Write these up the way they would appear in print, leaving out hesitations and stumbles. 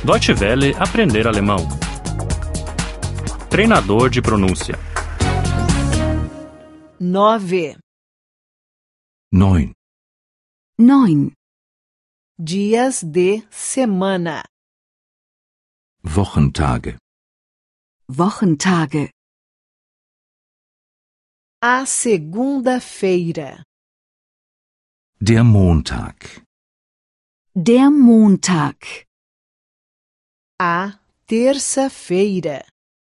Deutsche Welle aprender alemão. Treinador de pronúncia. 9. 9. 9. Dias de semana. Wochentage. Wochentage. A segunda-feira. Der Montag. Der Montag. A terça-feira.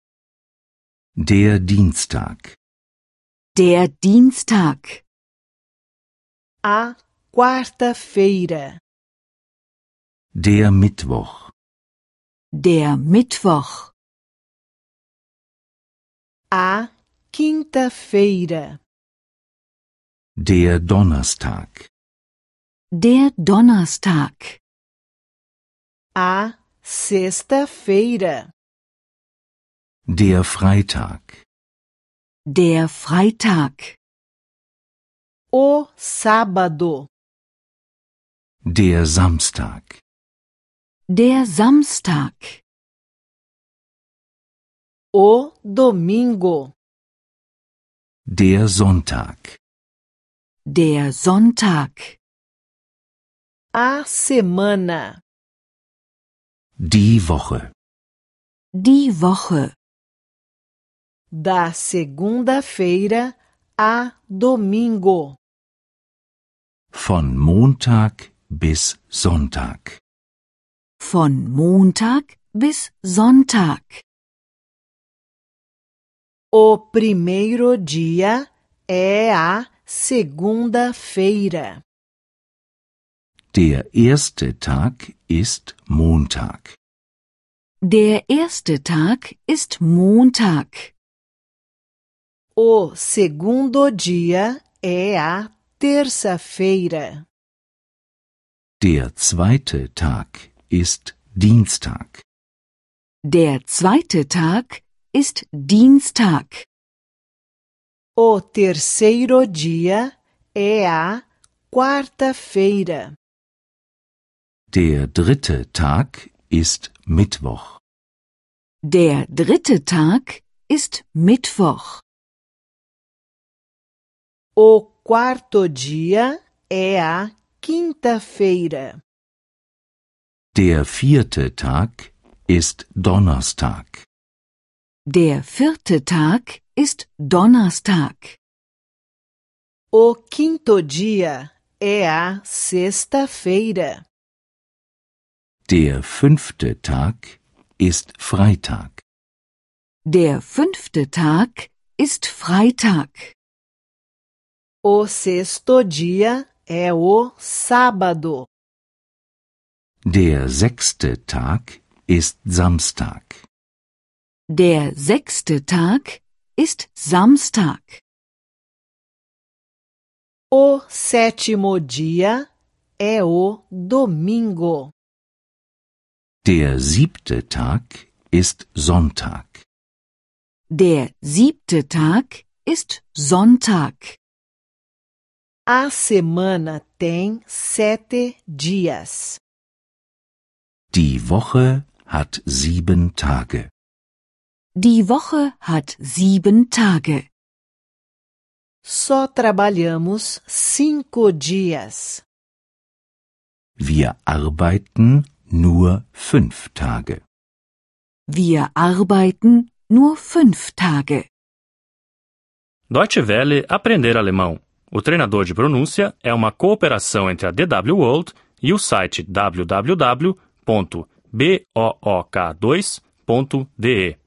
Der Dienstag. Der Dienstag. A quarta-feira. Der Mittwoch. Der Mittwoch. A quinta-feira. Der Donnerstag. Der Donnerstag. A sexta-feira. Der Freitag. Der Freitag. O sábado. Der Samstag. Der Samstag. O domingo. Der Sonntag. Der Sonntag. A semana. Die Woche. Die Woche. Da segunda-feira a domingo. Von Montag bis Sonntag. Von Montag bis Sonntag. O primeiro dia é a segunda-feira. Der erste Tag ist Montag. Der erste Tag ist Montag. O segundo dia é a terça-feira. Der zweite Tag ist Dienstag. Der zweite Tag ist Dienstag. O terceiro dia é a quarta-feira. Der dritte Tag ist Mittwoch. Der dritte Tag ist Mittwoch. O quarto dia é a quinta-feira. Der vierte Tag ist Donnerstag. Der vierte Tag ist Donnerstag. O quinto dia é a sexta-feira. Der fünfte Tag ist Freitag. Der fünfte Tag ist Freitag. O sexto dia é o sábado. Der sechste Tag ist Samstag. Der sechste Tag ist Samstag. O sétimo dia é o domingo. Der siebte Tag ist Sonntag. Der siebte Tag ist Sonntag. A semana tem 7 dias. Die Woche hat 7 Tage. Die Woche hat 7 Tage. Só trabalhamos 5 dias. Wir arbeiten nur 5 Tage. Wir arbeiten nur 5 Tage. Deutsche Welle aprender alemão. O treinador de pronúncia é uma cooperação entre a DW World e o site www.book2.de.